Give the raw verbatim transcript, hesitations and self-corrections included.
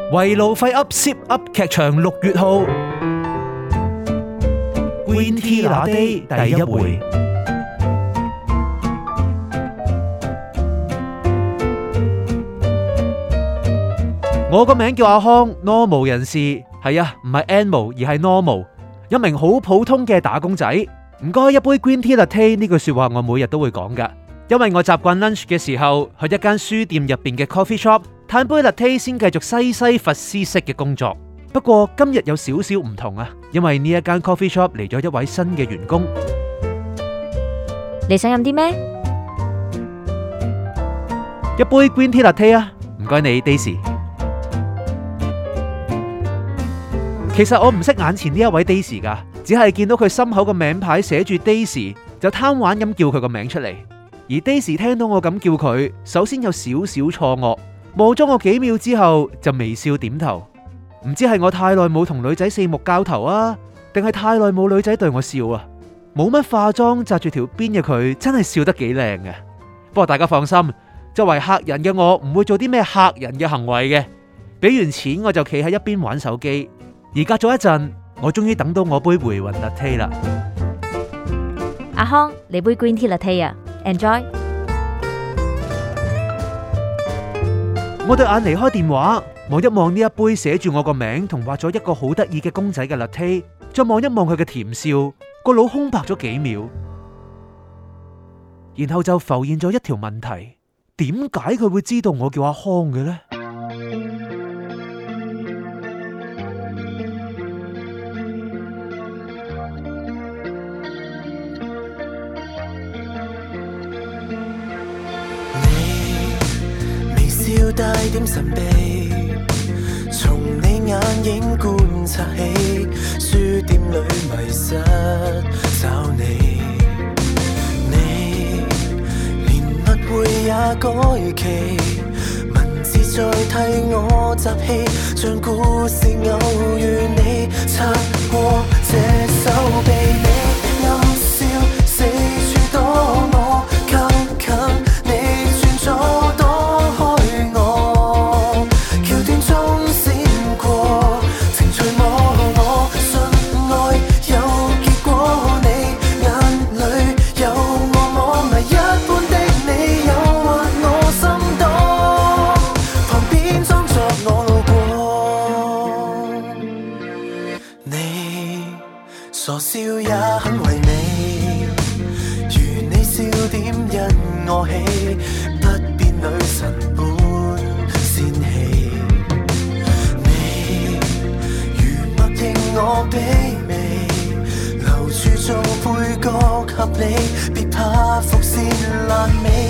圍爐廢 up Zip 噏劇場六月號 Green Tea Latte 第一回。我個名叫阿康 ，normal 人士，係啊，唔係 animal 而係 normal， 一名好普通嘅打工仔。唔該，一杯 Green Tea Latte 呢句說話我每日都會講噶，因為我習慣 lunch 嘅時候去一間書店入邊嘅 coffee shop 嘆杯 latte 先繼續西西弗斯式嘅工作。不過今日有少少唔同啊，因為呢一間 coffee shop 嚟咗一位新嘅員工。 你想飲啲咩？ 一杯 Green Tea Latte 啊，唔該你 Daisy。其實我唔識眼前呢一位 Daisy 噶，只係見到佢心口個名牌寫住 Daisy， 就貪玩咁叫佢個名出嚟。而 Daisy 聽到我咁叫佢，首先有少少錯愕，望咗我幾秒之後就微笑點頭。唔知係我太耐冇同女仔四目交投啊，定係太耐冇女仔對我笑啊？冇乜化妝紮住條辮嘅佢真係笑得幾靚嘅。不過大家放心，作為客人嘅我唔會做啲咩嚇人嘅行為嘅。俾完錢我就企喺一邊玩手機。而隔咗一陣，我終於等到我杯回魂 latte 啦。 阿康，你杯 Green Tea Latte 啊 ，Enjoy。 我對眼離開電話，望一望呢一杯寫住我個名同畫咗一個好得意嘅公仔嘅 latte， 再望一望佢嘅甜笑，個腦空白咗幾秒，然後就浮現咗一條問題：點解佢會知道我叫阿康嘅呢？ 要帶點神秘，從你眼影觀察起，書店裏迷失找你，你連密會也改期，文字再替我集氣，將故事偶遇你，擦過這手臂，你暗笑四處躲我，靠近你轉左躲。傻笑也很唯美，如你笑點因我起，不變女神般仙氣。你如默認我卑微，留住做配角合理，別怕伏線爛尾。